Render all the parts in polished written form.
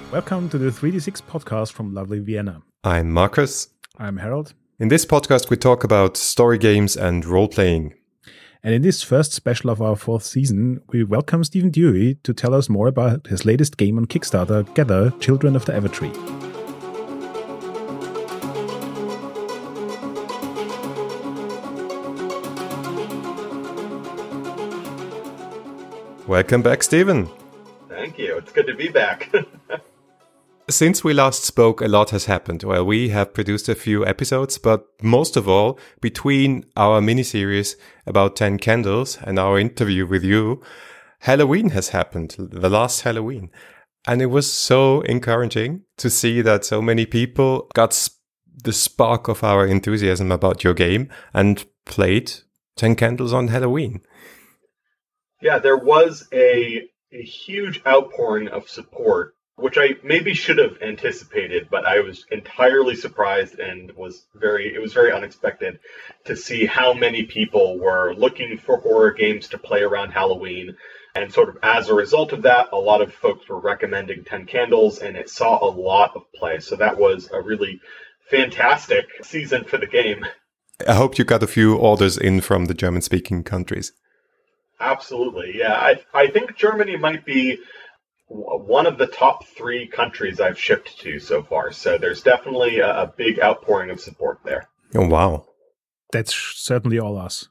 Welcome to the 3D6 podcast from lovely Vienna. I'm Marcus. I'm Harold. In this podcast, we talk about story games and role-playing. And in this first special of our fourth season, we welcome Stephen Dewey to tell us more about his latest game on Kickstarter, Gather, Children of the Evertree. Welcome back, Stephen. Thank you. It's good to be back. Since we last spoke, a lot has happened. Well, we have produced a few episodes, but most of all, between our miniseries about 10 Candles and our interview with you, Halloween has happened, the last Halloween. And it was so encouraging to see that so many people got the spark of our enthusiasm about your game and played 10 Candles on Halloween. Yeah, there was a huge outpouring of support, which I maybe should have anticipated, but I was entirely surprised and it was very unexpected to see how many people were looking for horror games to play around Halloween. And sort of as a result of that, a lot of folks were recommending 10 Candles, and it saw a lot of play. So that was a really fantastic season for the game. I hope you got a few orders in from the German-speaking countries. Absolutely, yeah. I think Germany might be one of the top 3 countries I've shipped to so far. So there's definitely a big outpouring of support there. Oh, wow. That's certainly all us.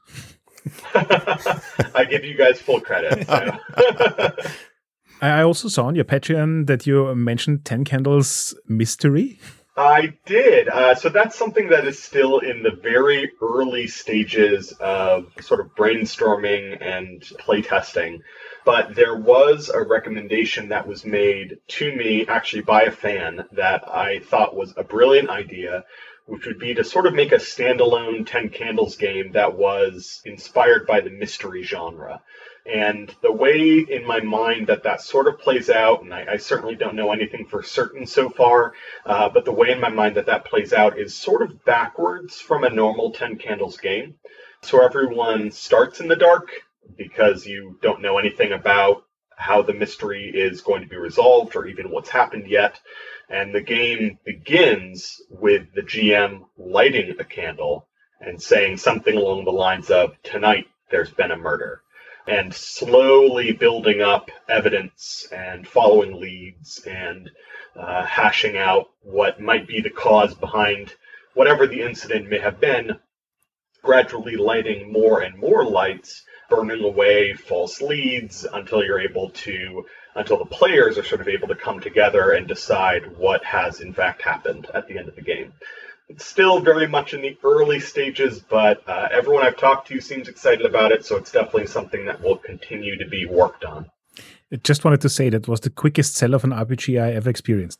I give you guys full credit. So. I also saw on your Patreon that you mentioned 10 Candles Mystery. I did. So that's something that is still in the very early stages of sort of brainstorming and playtesting. But there was a recommendation that was made to me, actually by a fan, that I thought was a brilliant idea, which would be to sort of make a standalone 10 Candles game that was inspired by the mystery genre. And the way in my mind that sort of plays out, and I certainly don't know anything for certain so far, but the way in my mind that plays out is sort of backwards from a normal 10 Candles game. So everyone starts in the dark because you don't know anything about how the mystery is going to be resolved or even what's happened yet. And the game begins with the GM lighting a candle and saying something along the lines of, "Tonight there's been a murder," and slowly building up evidence and following leads and hashing out what might be the cause behind whatever the incident may have been, gradually lighting more and more lights, burning away false leads until the players are sort of able to come together and decide what has in fact happened at the end of the game. It's still very much in the early stages, but everyone I've talked to seems excited about it, so it's definitely something that will continue to be worked on. I just wanted to say that was the quickest sell of an RPG I ever experienced.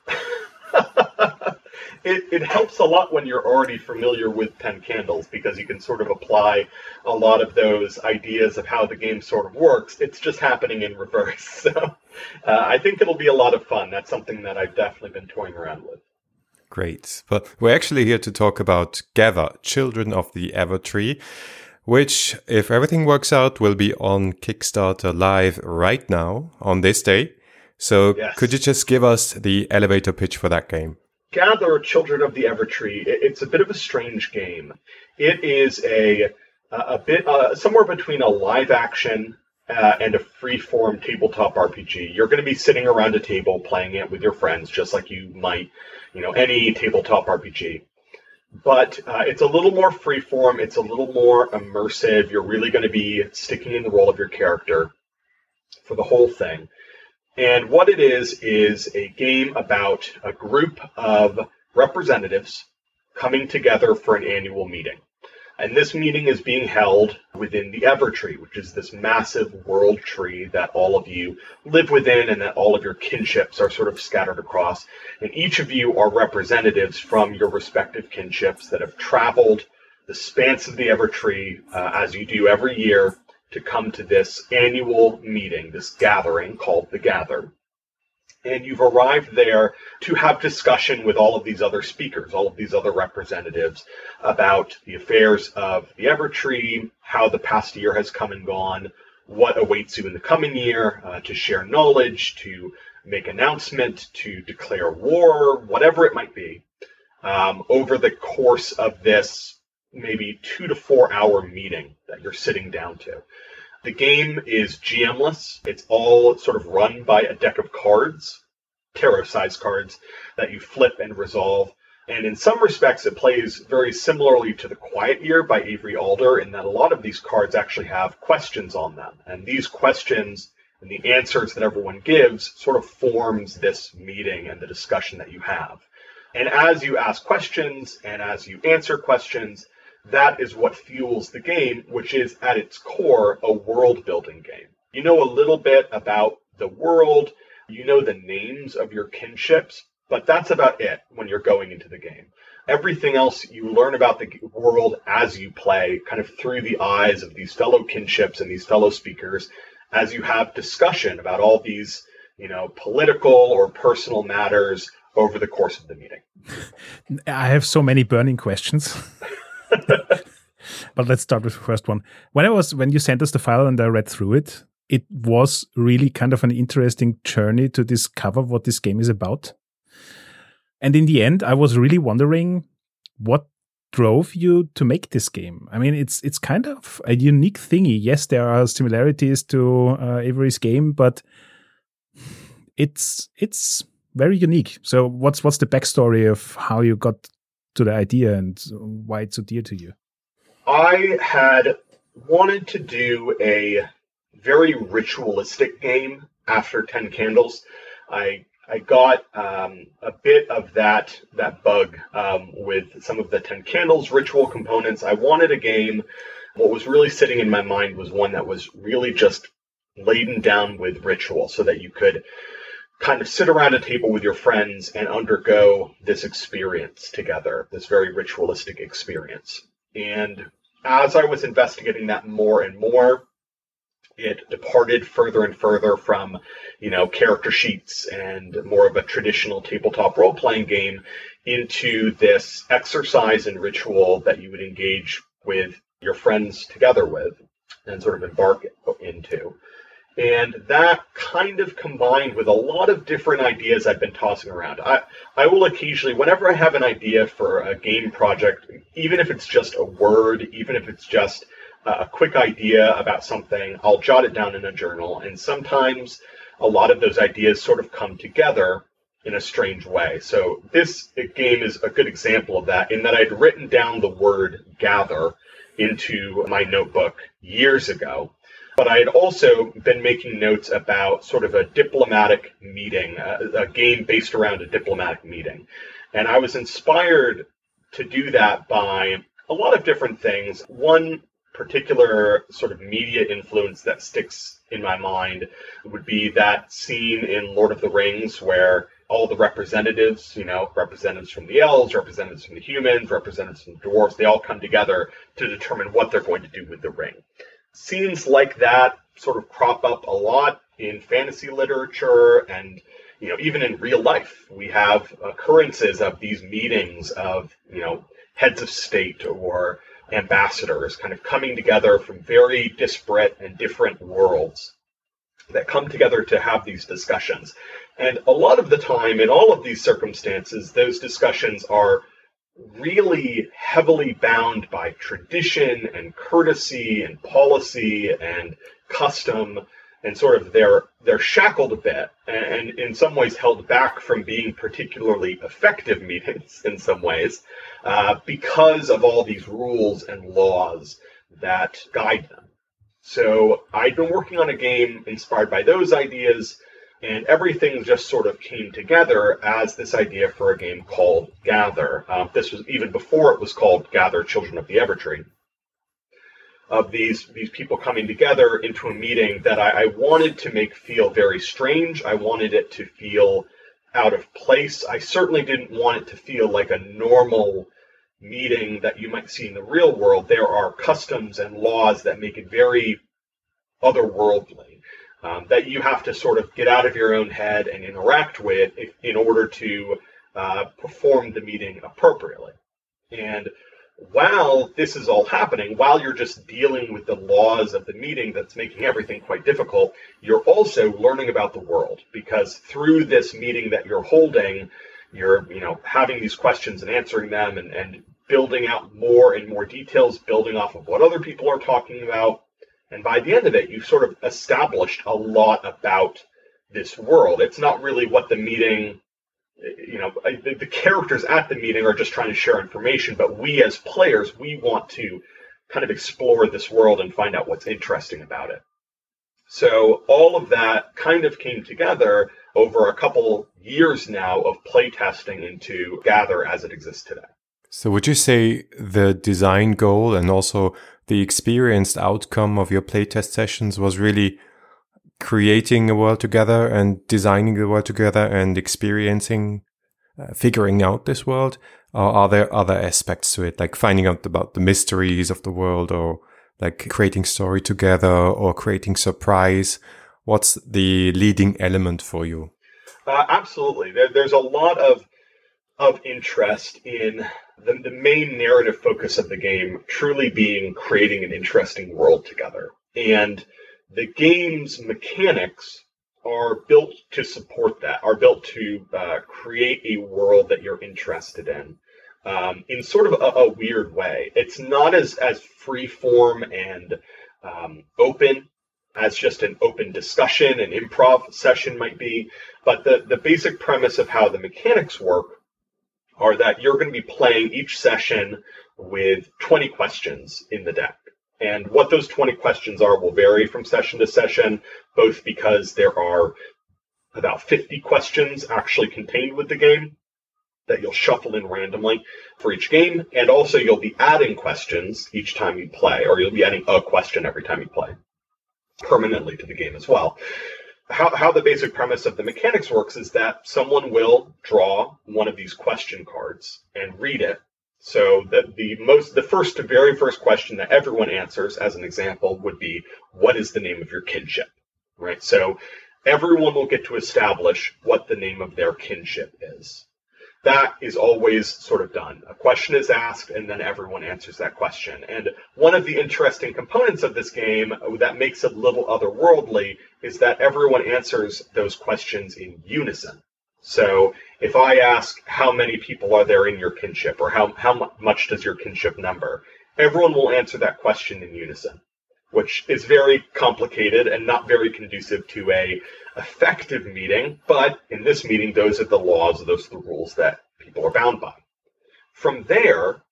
It helps a lot when you're already familiar with 10 Candles, because you can sort of apply a lot of those ideas of how the game sort of works. It's just happening in reverse. So I think it'll be a lot of fun. That's something that I've definitely been toying around with. Great. But we're actually here to talk about Gather, Children of the Evertree, which, if everything works out, will be on Kickstarter live right now on this day. So Yes. Could you just give us the elevator pitch for that game? Gather, Children of the Evertree. It's a bit of a strange game. It is a bit somewhere between a live action and a free-form tabletop RPG. You're going to be sitting around a table playing it with your friends, just like you might, any tabletop RPG. But it's a little more free-form. It's a little more immersive. You're really going to be sticking in the role of your character for the whole thing. And what it is a game about a group of representatives coming together for an annual meeting. And this meeting is being held within the Evertree, which is this massive world tree that all of you live within and that all of your kinships are sort of scattered across. And each of you are representatives from your respective kinships that have traveled the spans of the Evertree, as you do every year, to come to this annual meeting, this gathering called the Gather. And you've arrived there to have discussion with all of these other speakers, all of these other representatives about the affairs of the Evertree, how the past year has come and gone, what awaits you in the coming year, to share knowledge, to make announcement, to declare war, whatever it might be, over the course of this maybe 2 to 4 hour meeting that you're sitting down to. The game is GM-less. It's all sort of run by a deck of cards, tarot-sized cards, that you flip and resolve. And in some respects, it plays very similarly to The Quiet Year by Avery Alder, in that a lot of these cards actually have questions on them. And these questions and the answers that everyone gives sort of forms this meeting and the discussion that you have. And as you ask questions and as you answer questions, that is what fuels the game, which is at its core a world-building game. You know a little bit about the world, you know the names of your kinships, but that's about it when you're going into the game. Everything else you learn about the world as you play, kind of through the eyes of these fellow kinships and these fellow speakers, as you have discussion about all these, political or personal matters over the course of the meeting. I have so many burning questions. But let's start with the first one. When you sent us the file and I read through it, it was really kind of an interesting journey to discover what this game is about. And in the end, I was really wondering what drove you to make this game. I mean, it's kind of a unique thingy. Yes, there are similarities to Avery's game, but it's very unique. So what's the backstory of how you got to the idea and why it's so dear to you? I had wanted to do a very ritualistic game after 10 Candles. I got a bit of that bug with some of the 10 Candles ritual components. I wanted a game. What was really sitting in my mind was one that was really just laden down with ritual, so that you could kind of sit around a table with your friends and undergo this experience together, this very ritualistic experience. And as I was investigating that more and more, it departed further and further from, character sheets and more of a traditional tabletop role-playing game into this exercise and ritual that you would engage with your friends together with and sort of embark into. And that kind of combined with a lot of different ideas I've been tossing around. I will occasionally, whenever I have an idea for a game project, even if it's just a word, even if it's just a quick idea about something, I'll jot it down in a journal. And sometimes a lot of those ideas sort of come together in a strange way. So this game is a good example of that, in that I'd written down the word gather into my notebook years ago. But I had also been making notes about sort of a diplomatic meeting, a game based around a diplomatic meeting. And I was inspired to do that by a lot of different things. One particular sort of media influence that sticks in my mind would be that scene in Lord of the Rings where all the representatives, representatives from the elves, representatives from the humans, representatives from the dwarves, they all come together to determine what they're going to do with the ring. Scenes like that sort of crop up a lot in fantasy literature and, even in real life. We have occurrences of these meetings of, heads of state or ambassadors kind of coming together from very disparate and different worlds that come together to have these discussions. And a lot of the time, in all of these circumstances, those discussions are really heavily bound by tradition and courtesy and policy and custom, and sort of they're shackled a bit and in some ways held back from being particularly effective meetings in some ways because of all these rules and laws that guide them. So I'd been working on a game inspired by those ideas, and everything just sort of came together as this idea for a game called Gather. This was even before it was called Gather, Children of the Evertree. Of these people coming together into a meeting that I wanted to make feel very strange. I wanted it to feel out of place. I certainly didn't want it to feel like a normal meeting that you might see in the real world. There are customs and laws that make it very otherworldly. That you have to sort of get out of your own head and interact with in order to perform the meeting appropriately. And while this is all happening, while you're just dealing with the laws of the meeting that's making everything quite difficult, you're also learning about the world, because through this meeting that you're holding, you're having these questions and answering them and building out more and more details, building off of what other people are talking about. And by the end of it, you've sort of established a lot about this world. It's not really what the meeting, the characters at the meeting are just trying to share information, but we as players, we want to kind of explore this world and find out what's interesting about it. So all of that kind of came together over a couple years now of playtesting into Gather as it exists today. So would you say the design goal and also the experienced outcome of your playtest sessions was really creating a world together and designing the world together and experiencing, figuring out this world? Or are there other aspects to it, like finding out about the mysteries of the world, or like creating story together or creating surprise? What's the leading element for you? Absolutely. There's a lot of interest in the main narrative focus of the game truly being creating an interesting world together. And the game's mechanics are built to support that, are built to create a world that you're interested in sort of a weird way. It's not as free-form and open as just an open discussion, an improv session might be, but the basic premise of how the mechanics work are that you're going to be playing each session with 20 questions in the deck. And what those 20 questions are will vary from session to session, both because there are about 50 questions actually contained with the game that you'll shuffle in randomly for each game, and also you'll be adding questions each time you play, or you'll be adding a question every time you play, permanently to the game as well. How the basic premise of the mechanics works is that someone will draw one of these question cards and read it. So that the very first question that everyone answers, as an example, would be, what is the name of your kinship? Right? So everyone will get to establish what the name of their kinship is. That is always sort of done. A question is asked, and then everyone answers that question. And one of the interesting components of this game that makes it a little otherworldly is that everyone answers those questions in unison. So if I ask how many people are there in your kinship, or how much does your kinship number, everyone will answer that question in unison, which is very complicated and not very conducive to a effective meeting. But in this meeting, those are the laws, those are the rules that people are bound by. From there,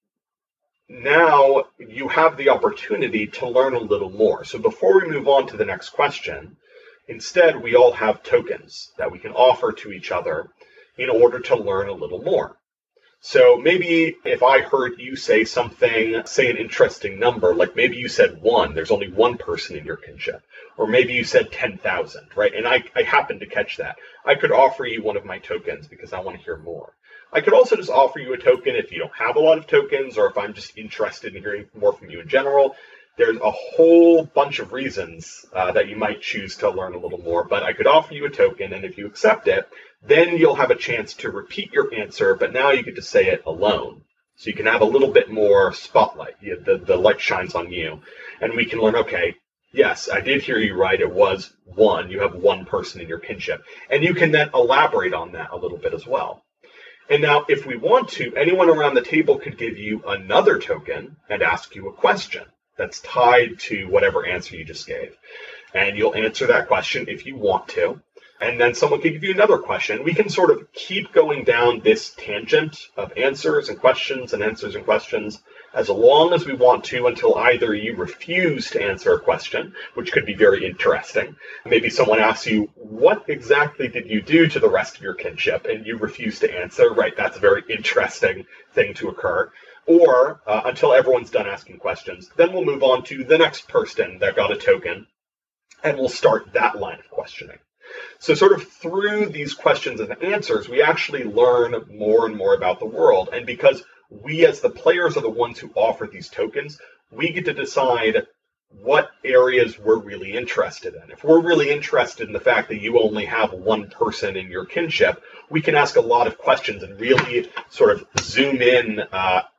now you have the opportunity to learn a little more. So before we move on to the next question, instead, we all have tokens that we can offer to each other in order to learn a little more. So maybe if I heard you say something, say an interesting number, like maybe you said 1, there's only one person in your kinship. Or maybe you said 10,000, right? And I happened to catch that. I could offer you one of my tokens because I want to hear more. I could also just offer you a token if you don't have a lot of tokens, or if I'm just interested in hearing more from you in general. There's a whole bunch of reasons that you might choose to learn a little more, but I could offer you a token, and if you accept it, then you'll have a chance to repeat your answer, but now you get to say it alone. So you can have a little bit more spotlight. The light shines on you, and we can learn, okay, yes, I did hear you right. It was 1. You have one person in your kinship. And you can then elaborate on that a little bit as well. And now, if we want to, anyone around the table could give you another token and ask you a question that's tied to whatever answer you just gave. And you'll answer that question if you want to. And then someone can give you another question. We can sort of keep going down this tangent of answers and questions and answers and questions as long as we want to, until either you refuse to answer a question, which could be very interesting. Maybe someone asks you, what exactly did you do to the rest of your kinship? And you refuse to answer. Right, that's a very interesting thing to occur. Or until everyone's done asking questions. Then we'll move on to the next person that got a token, and we'll start that line of questioning. So sort of through these questions and answers, we actually learn more and more about the world. And because we as the players are the ones who offer these tokens, we get to decide what areas we're really interested in. If we're really interested in the fact that you only have one person in your kinship, we can ask a lot of questions and really sort of zoom in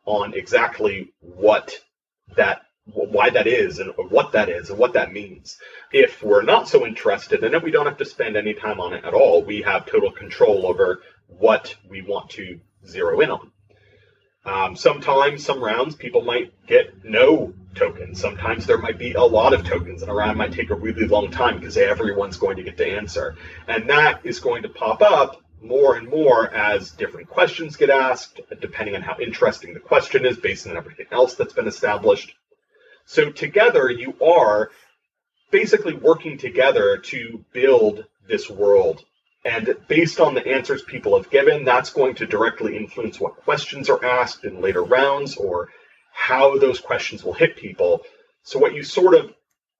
on exactly why that is and what that means. If we're not so interested in it, we don't have to spend any time on it at all. We have total control over what we want to zero in on. Sometimes, some rounds, people might get no tokens. Sometimes there might be a lot of tokens, and a round might take a really long time because everyone's going to get to answer. And that is going to pop up more and more as different questions get asked, depending on how interesting the question is, based on everything else that's been established. So together, you are basically working together to build this world. And based on the answers people have given, that's going to directly influence what questions are asked in later rounds or how those questions will hit people. So what you sort of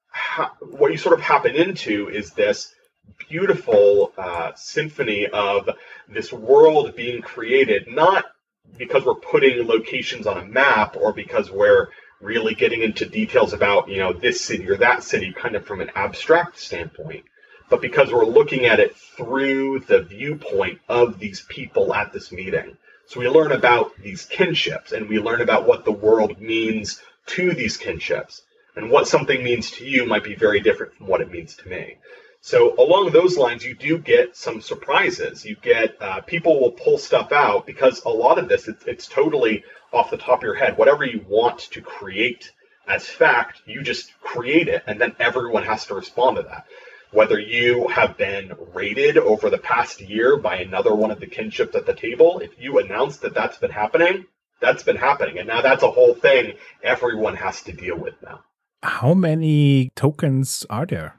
happen into is this beautiful symphony of this world being created, not because we're putting locations on a map or because we're really getting into details about, this city or that city kind of from an abstract standpoint, but because we're looking at it through the viewpoint of these people at this meeting. So we learn about these kinships, and we learn about what the world means to these kinships. And what something means to you might be very different from what it means to me. So along those lines, you do get some surprises. You get people will pull stuff out because a lot of this, it's totally off the top of your head. Whatever you want to create as fact, you just create it, and then everyone has to respond to that. Whether you have been raided over the past year by another one of the kinships at the table, if you announce that that's been happening, and now that's a whole thing everyone has to deal with now. How many tokens are there?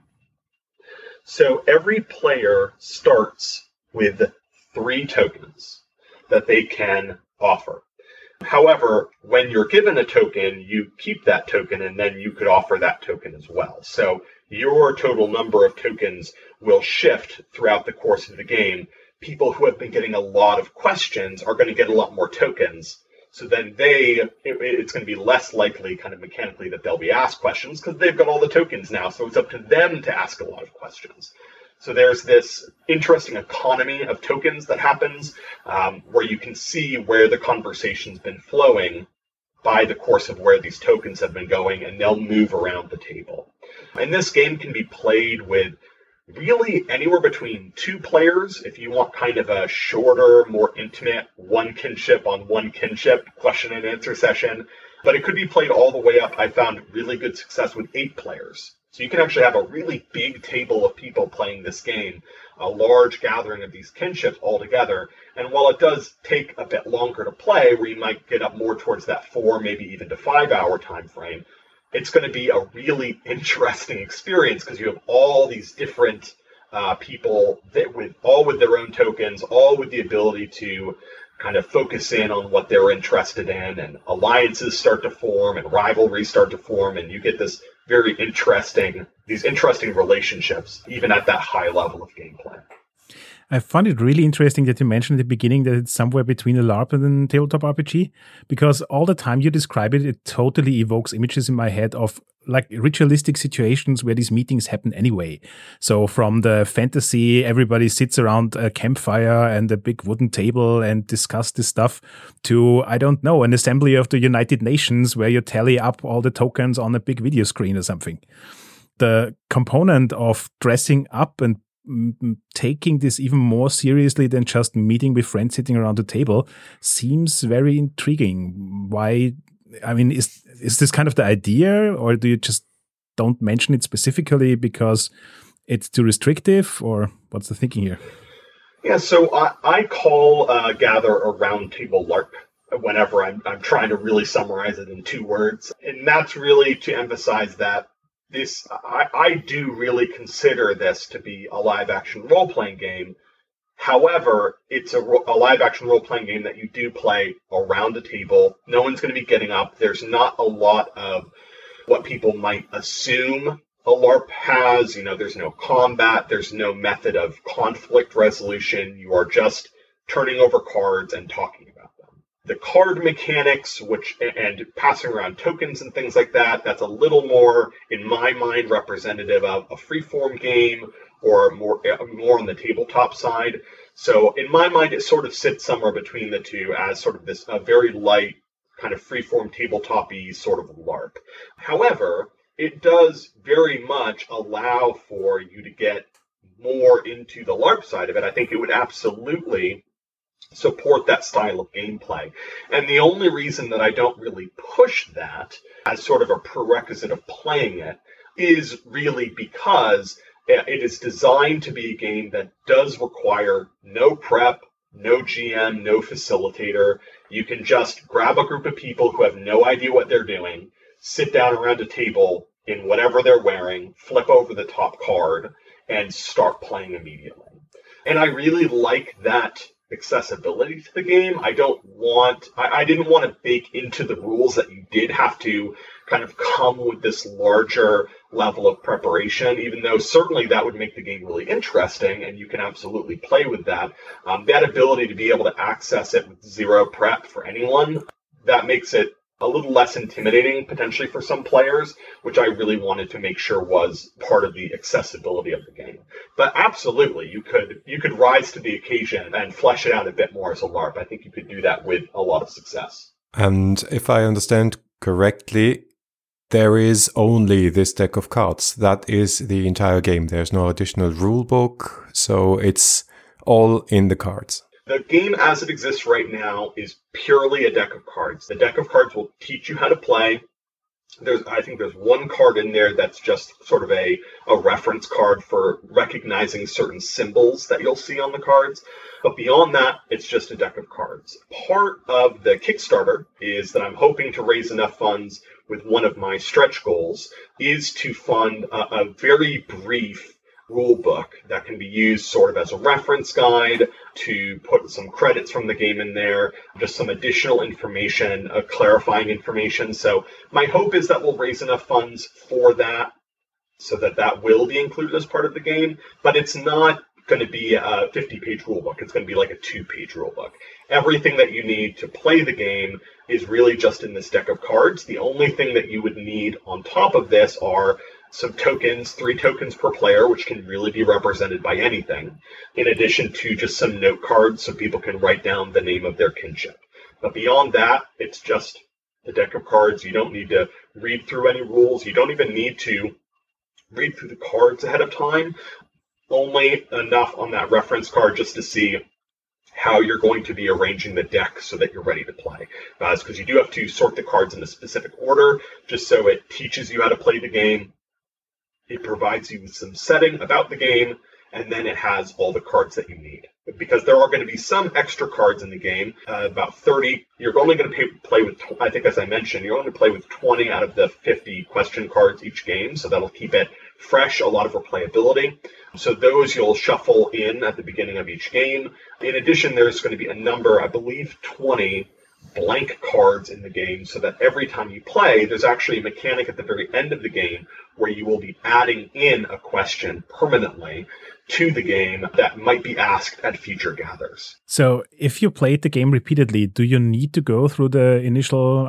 So every player starts with 3 tokens that they can offer. However, when you're given a token, you keep that token, and then you could offer that token as well. So your total number of tokens will shift throughout the course of the game. People who have been getting a lot of questions are going to get a lot more tokens. So then it's going to be less likely kind of mechanically that they'll be asked questions because they've got all the tokens now. So it's up to them to ask a lot of questions. So there's this interesting economy of tokens that happens where you can see where the conversation's been flowing by the course of where these tokens have been going, and they'll move around the table. And this game can be played with really anywhere between 2 players if you want kind of a shorter, more intimate one kinship on one kinship question and answer session. But it could be played all the way up. I found really good success with 8 players. So you can actually have a really big table of people playing this game, a large gathering of these kinships all together. And while it does take a bit longer to play, where you might get up more towards that 4, maybe even to 5 hour time frame, it's going to be a really interesting experience because you have all these different people with their own tokens, all with the ability to kind of focus in on what they're interested in, and alliances start to form and rivalries start to form, and you get these interesting relationships even at that high level of gameplay. I found it really interesting that you mentioned at the beginning that it's somewhere between a LARP and a tabletop RPG, because all the time you describe it, it totally evokes images in my head of like ritualistic situations where these meetings happen anyway. So from the fantasy, everybody sits around a campfire and a big wooden table and discuss this stuff, to, I don't know, an assembly of the United Nations where you tally up all the tokens on a big video screen or something. The component of dressing up and taking this even more seriously than just meeting with friends sitting around the table seems very intriguing. Why? I mean, is this kind of the idea, or do you just don't mention it specifically because it's too restrictive, or what's the thinking here? Yeah, so I call Gather a round table LARP whenever I'm trying to really summarize it in 2 words. And that's really to emphasize that I do really consider this to be a live-action role-playing game. However, it's a live-action role-playing game that you do play around a table. No one's going to be getting up. There's not a lot of what people might assume a LARP has. There's no combat. There's no method of conflict resolution. You are just turning over cards and talking about them. The card mechanics, and passing around tokens and things like that, that's a little more, in my mind, representative of a freeform game or more on the tabletop side. So in my mind, it sort of sits somewhere between the two as sort of this very light kind of freeform tabletop-y sort of LARP. However, it does very much allow for you to get more into the LARP side of it. I think it would absolutely support that style of gameplay. And the only reason that I don't really push that as sort of a prerequisite of playing it is really because it is designed to be a game that does require no prep, no GM, no facilitator. You can just grab a group of people who have no idea what they're doing, sit down around a table in whatever they're wearing, flip over the top card, and start playing immediately. And I really like that accessibility to the game. I didn't want to bake into the rules that you did have to kind of come with this larger level of preparation, even though certainly that would make the game really interesting and you can absolutely play with that. That ability to be able to access it with zero prep for anyone, that makes it a little less intimidating potentially for some players, which I really wanted to make sure was part of the accessibility of the game. But absolutely, you could rise to the occasion and flesh it out a bit more as a LARP. I think you could do that with a lot of success. And if I understand correctly, there is only this deck of cards. That is the entire game. There's no additional rule book, so it's all in the cards. The game as it exists right now is purely a deck of cards. The deck of cards will teach you how to play. I think there's one card in there that's just sort of a reference card for recognizing certain symbols that you'll see on the cards. But beyond that, it's just a deck of cards. Part of the Kickstarter is that I'm hoping to raise enough funds with one of my stretch goals is to fund a very brief rule book that can be used sort of as a reference guide, to put some credits from the game in there, just some additional information, clarifying information. So my hope is that we'll raise enough funds for that so that will be included as part of the game, but it's not going to be a 50-page rulebook. It's going to be like a 2-page rulebook. Everything that you need to play the game is really just in this deck of cards. The only thing that you would need on top of this are some tokens, 3 tokens per player, which can really be represented by anything, in addition to just some note cards so people can write down the name of their kinship. But beyond that, it's just a deck of cards. You don't need to read through any rules. You don't even need to read through the cards ahead of time. Only enough on that reference card just to see how you're going to be arranging the deck so that you're ready to play. Because you do have to sort the cards in a specific order, just so it teaches you how to play the game. It provides you with some setting about the game, and then it has all the cards that you need. Because there are going to be some extra cards in the game, about 30. You're only going to play with, I think as I mentioned, you're only going to play with 20 out of the 50 question cards each game, so that'll keep it fresh, a lot of replayability. So those you'll shuffle in at the beginning of each game. In addition, there's going to be a number, I believe 20, blank cards in the game, so that every time you play, there's actually a mechanic at the very end of the game where you will be adding in a question permanently to the game that might be asked at future gathers. So if you played the game repeatedly, do you need to go through the initial,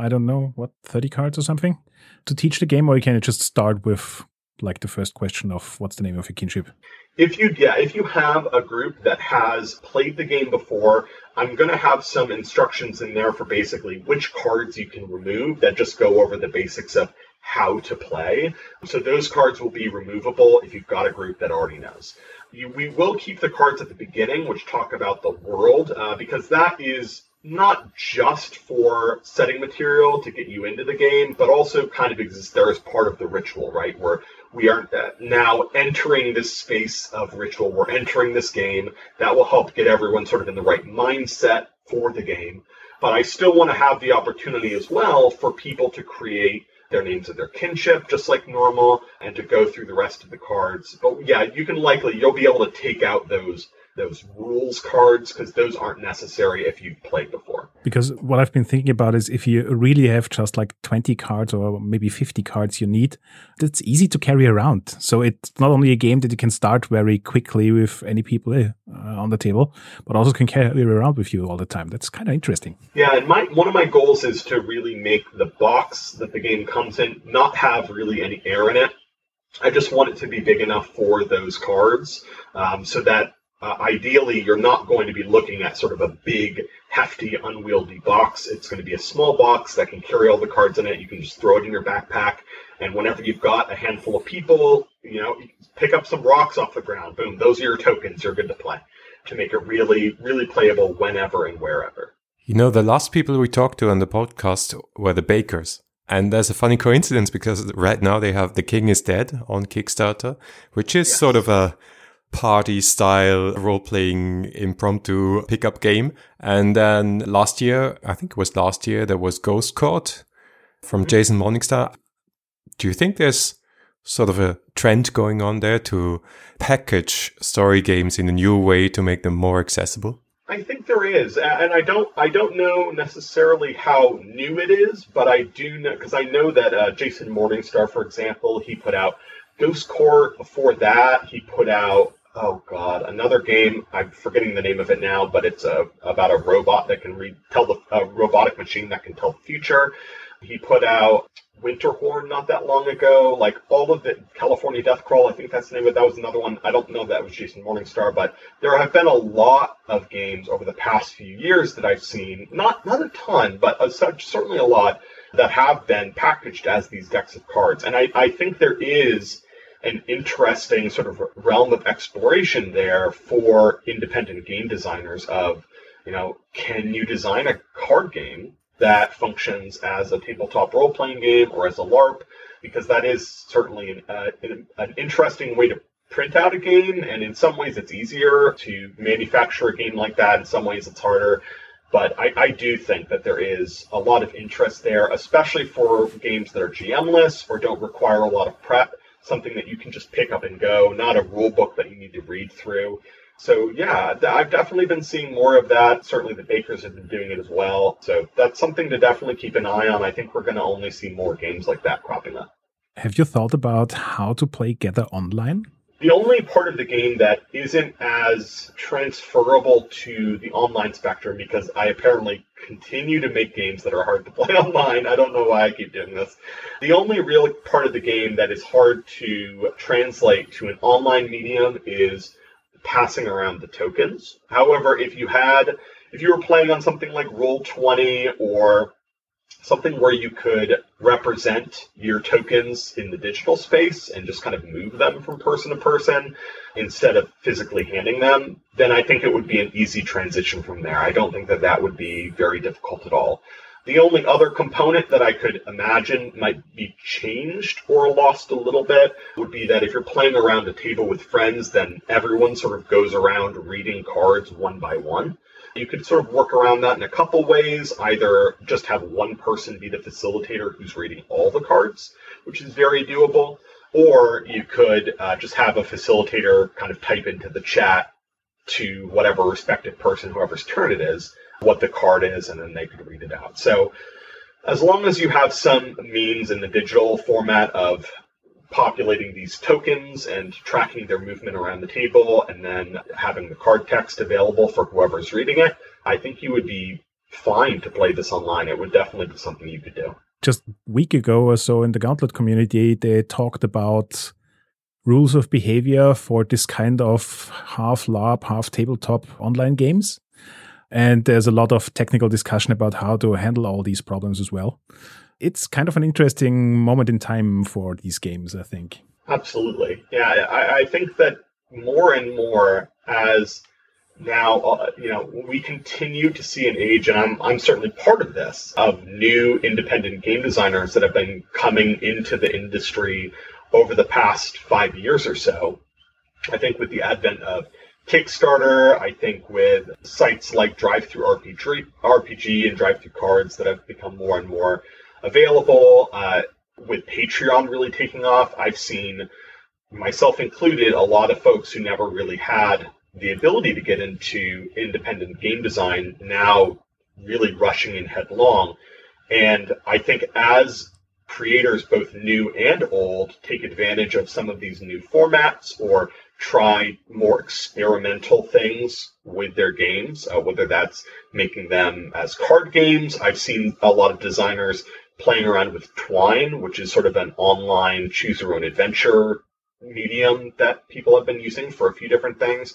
30 cards or something to teach the game, or can you just start with like the first question of what's the name of your kinship? If you have a group that has played the game before, I'm going to have some instructions in there for basically which cards you can remove that just go over the basics of how to play. So those cards will be removable if you've got a group that already knows. We will keep the cards at the beginning, which talk about the world, because that is not just for setting material to get you into the game, but also kind of exists there as part of the ritual, right? Where we are now entering this space of ritual. We're entering this game. That will help get everyone sort of in the right mindset for the game. But I still want to have the opportunity as well for people to create their names of their kinship, just like normal, and to go through the rest of the cards. But yeah, you'll be able to take out those rules cards, because those aren't necessary if you've played before. Because what I've been thinking about is if you really have just like 20 cards or maybe 50 cards you need, that's easy to carry around. So it's not only a game that you can start very quickly with any people on the table, but also can carry around with you all the time. That's kind of interesting. Yeah, and one of my goals is to really make the box that the game comes in not have really any air in it. I just want it to be big enough for those cards, so that ideally, you're not going to be looking at sort of a big, hefty, unwieldy box. It's going to be a small box that can carry all the cards in it. You can just throw it in your backpack. And whenever you've got a handful of people, you pick up some rocks off the ground. Boom, those are your tokens. You're good to play, to make it really, really playable whenever and wherever. The last people we talked to on the podcast were the bakers. And there's a funny coincidence because right now they have The King is Dead on Kickstarter, which is sort of a party-style role-playing impromptu pickup game. And then last year, there was Ghost Court from Jason Morningstar. Do you think there's sort of a trend going on there to package story games in a new way to make them more accessible? I think there is, and I don't know necessarily how new it is, but I do know, because I know that Jason Morningstar, for example, he put out Ghost Court. Before that, he put out, another game. I'm forgetting the name of it now, but it's about a robot that can a robotic machine that can tell the future. He put out Winterhorn not that long ago, like all of the California Death Crawl, I think that's the name of it. That was another one. I don't know if that was Jason Morningstar, but there have been a lot of games over the past few years that I've seen, not a ton, but certainly a lot that have been packaged as these decks of cards. And I think there is an interesting sort of realm of exploration there for independent game designers of, can you design a card game that functions as a tabletop role-playing game or as a LARP, because that is certainly an interesting way to print out a game, and in some ways it's easier to manufacture a game like that. In some ways it's harder, but I do think that there is a lot of interest there, especially for games that are GM-less or don't require a lot of prep, something that you can just pick up and go, not a rule book that you need to read through. So, yeah, I've definitely been seeing more of that. Certainly the bakers have been doing it as well. So that's something to definitely keep an eye on. I think we're going to only see more games like that cropping up. Have you thought about how to play Gather online? The only part of the game that isn't as transferable to the online spectrum, because I apparently continue to make games that are hard to play online. I don't know why I keep doing this. The only real part of the game that is hard to translate to an online medium is passing around the tokens. However, if you were playing on something like Roll20 or something where you could represent your tokens in the digital space and just kind of move them from person to person instead of physically handing them, then I think it would be an easy transition from there. I don't think that would be very difficult at all. The only other component that I could imagine might be changed or lost a little bit would be that if you're playing around a table with friends, then everyone sort of goes around reading cards one by one. You could sort of work around that in a couple ways. Either just have one person be the facilitator who's reading all the cards, which is very doable, or you could just have a facilitator kind of type into the chat to whatever respective person, whoever's turn it is, what the card is, and then they could read it out. So as long as you have some means in the digital format of populating these tokens and tracking their movement around the table and then having the card text available for whoever's reading it, I think you would be fine to play this online. It would definitely be something you could do. Just a week ago or so in the Gauntlet community, they talked about rules of behavior for this kind of half LARP, half tabletop online games. And there's a lot of technical discussion about how to handle all these problems as well. It's kind of an interesting moment in time for these games, I think. Absolutely. Yeah, I think that more and more as now, we continue to see an age, and I'm certainly part of this, of new independent game designers that have been coming into the industry over the past 5 years or so. I think with the advent of Kickstarter, I think with sites like DriveThru RPG and DriveThru Cards that have become more and more available, with Patreon really taking off, I've seen, myself included, a lot of folks who never really had the ability to get into independent game design now really rushing in headlong. And I think as creators, both new and old, take advantage of some of these new formats or try more experimental things with their games, whether that's making them as card games. I've seen a lot of designers playing around with Twine, which is sort of an online choose-your-own-adventure medium that people have been using for a few different things.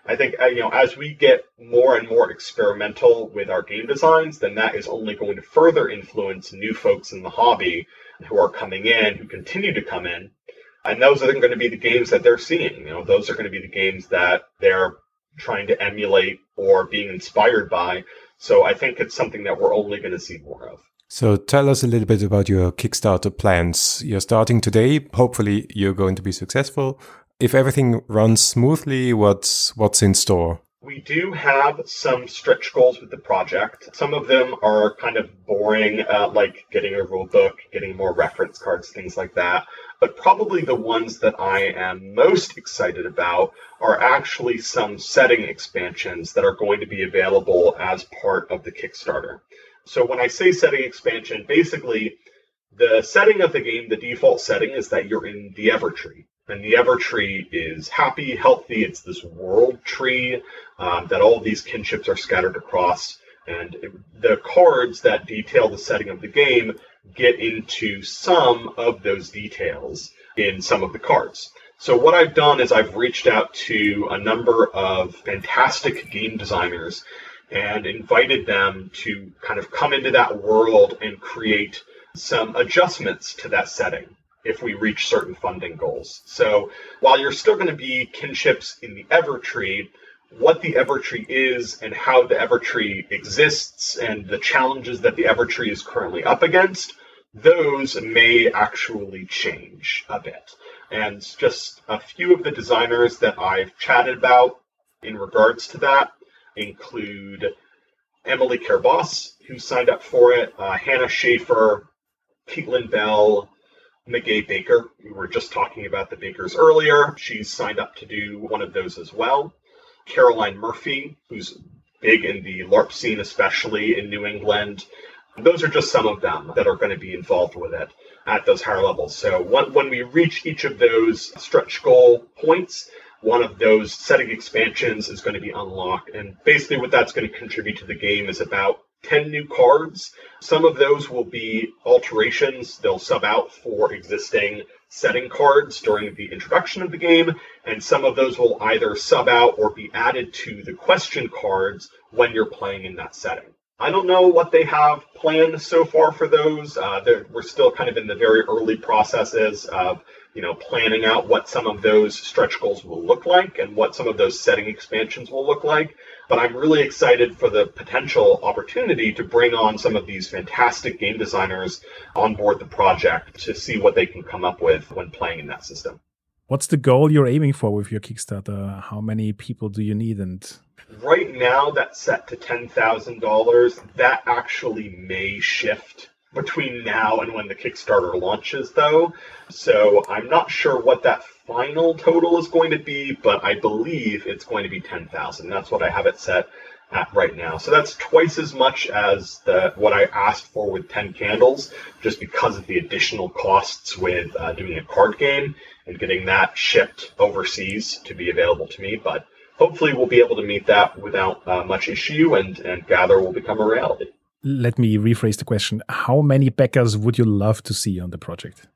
I think, as we get more and more experimental with our game designs, then that is only going to further influence new folks in the hobby who are coming in, who continue to come in. And those are going to be the games that they're seeing. Those are going to be the games that they're trying to emulate or being inspired by. So I think it's something that we're only going to see more of. So tell us a little bit about your Kickstarter plans. You're starting today. Hopefully you're going to be successful. If everything runs smoothly, what's in store? We do have some stretch goals with the project. Some of them are kind of boring, like getting a rule book, getting more reference cards, things like that. But probably the ones that I am most excited about are actually some setting expansions that are going to be available as part of the Kickstarter. So when I say setting expansion, basically the setting of the game, the default setting is that you're in the Evertree. And the Evertree is happy, healthy. It's this world tree that all of these kinships are scattered across. And the cards that detail the setting of the game get into some of those details in some of the cards. So what I've done is I've reached out to a number of fantastic game designers and invited them to kind of come into that world and create some adjustments to that setting if we reach certain funding goals. So while you're still going to be kinships in the Evertree, what the Evertree is and how the Evertree exists and the challenges that the Evertree is currently up against, those may actually change a bit. And just a few of the designers that I've chatted about in regards to that include Emily Kerboss, who signed up for it, Hannah Schaefer, Caitlin Bell, McGay Baker. We were just talking about the Bakers earlier. She's signed up to do one of those as well. Caroline Murphy, who's big in the LARP scene, especially in New England. Those are just some of them that are going to be involved with it at those higher levels. So when we reach each of those stretch goal points, one of those setting expansions is going to be unlocked. And basically what that's going to contribute to the game is about 10 new cards. Some of those will be alterations. They'll sub out for existing setting cards during the introduction of the game, and some of those will either sub out or be added to the question cards when you're playing in that setting. I don't know what they have planned so far for those. We're still kind of in the very early processes of planning out what some of those stretch goals will look like and what some of those setting expansions will look like. But I'm really excited for the potential opportunity to bring on some of these fantastic game designers on board the project to see what they can come up with when playing in that system. What's the goal you're aiming for with your Kickstarter? How many people do you need? And right now, that's set to $10,000. That actually may shift between now and when the Kickstarter launches, though. So I'm not sure what that final total is going to be, but I believe it's going to be 10,000. That's what I have it set at right now. So that's twice as much as what I asked for with 10 Candles, just because of the additional costs with doing a card game and getting that shipped overseas to be available to me. But hopefully we'll be able to meet that without much issue, and Gather will become a reality. Let me rephrase the question. How many backers would you love to see on the project?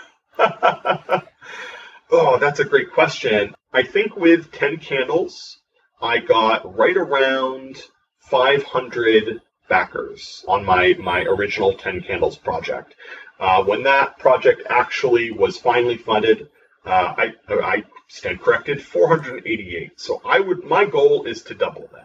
Oh, that's a great question. I think with 10 Candles, I got right around 500 backers on my original 10 Candles project. When that project actually was finally funded, I stand corrected, 488. So my goal is to double that.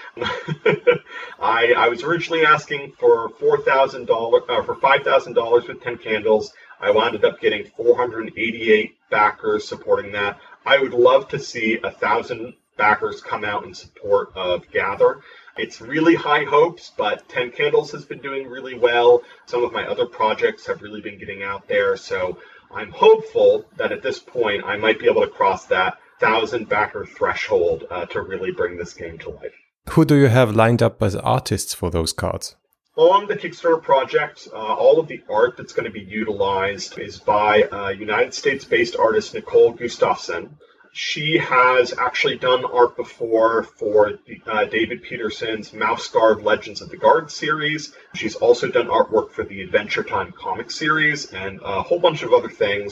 I was originally asking for $4,000 for $5,000 with 10 Candles. I wound up getting 488 backers supporting that. I would love to see 1,000 backers come out in support of Gather. It's really high hopes, but 10 Candles has been doing really well. Some of my other projects have really been getting out there. So I'm hopeful that at this point I might be able to cross that 1,000 backer threshold to really bring this game to life. Who do you have lined up as artists for those cards? On the Kickstarter project, all of the art that's going to be utilized is by United States-based artist Nicole Gustafson. She has actually done art before for David Peterson's Mouse Guard Legends of the Guard series. She's also done artwork for the Adventure Time comic series and a whole bunch of other things.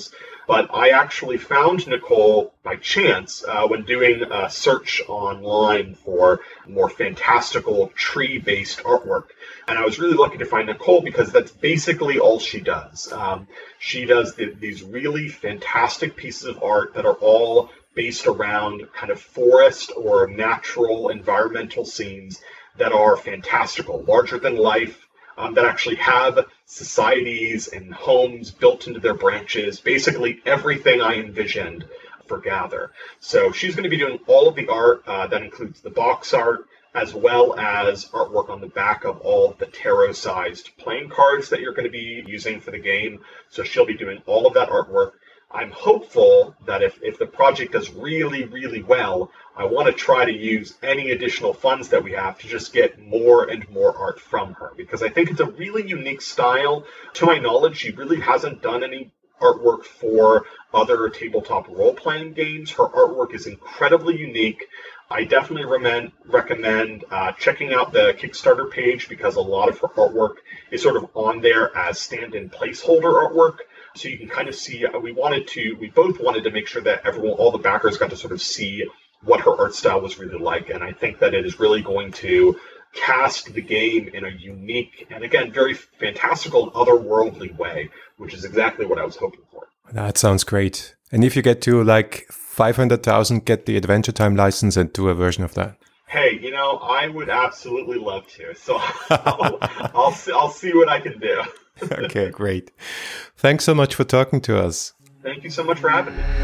But I actually found Nicole by chance when doing a search online for more fantastical tree-based artwork. And I was really lucky to find Nicole because that's basically all she does. She does these really fantastic pieces of art that are all based around kind of forest or natural environmental scenes that are fantastical, larger than life, that actually have societies and homes built into their branches, basically everything I envisioned for Gather. So she's going to be doing all of the art. That includes the box art, as well as artwork on the back of all of the tarot-sized playing cards that you're going to be using for the game. So she'll be doing all of that artwork. I'm hopeful that if the project does really, really well, I want to try to use any additional funds that we have to just get more and more art from her, because I think it's a really unique style. To my knowledge, she really hasn't done any artwork for other tabletop role-playing games. Her artwork is incredibly unique. I definitely recommend checking out the Kickstarter page, because a lot of her artwork is sort of on there as stand-in placeholder artwork. So you can kind of see, we both wanted to make sure that all the backers got to sort of see what her art style was really like. And I think that it is really going to cast the game in a unique and, again, very fantastical, otherworldly way, which is exactly what I was hoping for. That sounds great. And if you get to like 500,000, get the Adventure Time license and do a version of that. Hey, I would absolutely love to. So I'll see what I can do. Okay, great. Thanks so much for talking to us. Thank you so much for having me.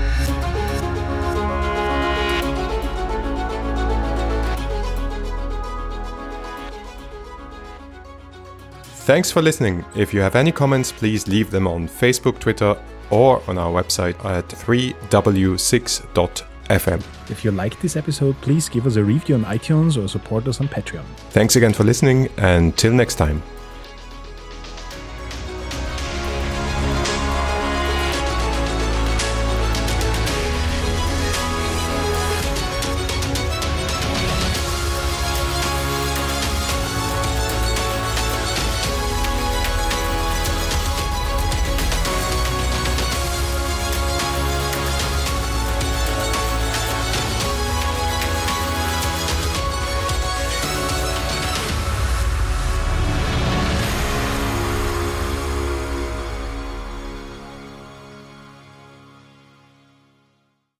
Thanks for listening. If you have any comments, please leave them on Facebook, Twitter, or on our website at 3w6.fm. If you liked this episode, please give us a review on iTunes or support us on Patreon. Thanks again for listening, and till next time.